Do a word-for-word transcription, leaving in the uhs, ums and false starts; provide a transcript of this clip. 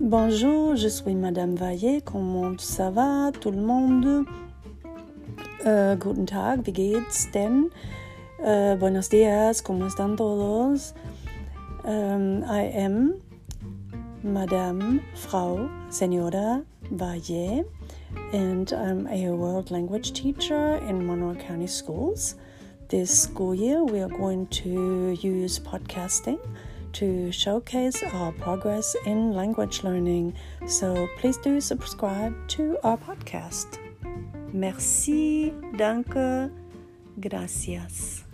Bonjour, je suis Madame Valle. Comment ça va tout le monde? Uh, guten Tag, wie geht's denn? Uh, buenos días, ¿cómo están todos? Um, I am Madame Frau Senora Valle, and I'm a world language teacher in Monroe County Schools. This school year, we are going to use podcasting to showcase our progress in language learning. So please do subscribe to our podcast. Merci, danke, gracias.